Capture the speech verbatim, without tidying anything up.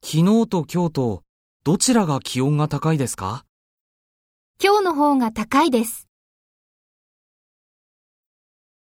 昨日と今日とどちらが気温が高いですか？ 今日の方が高いです。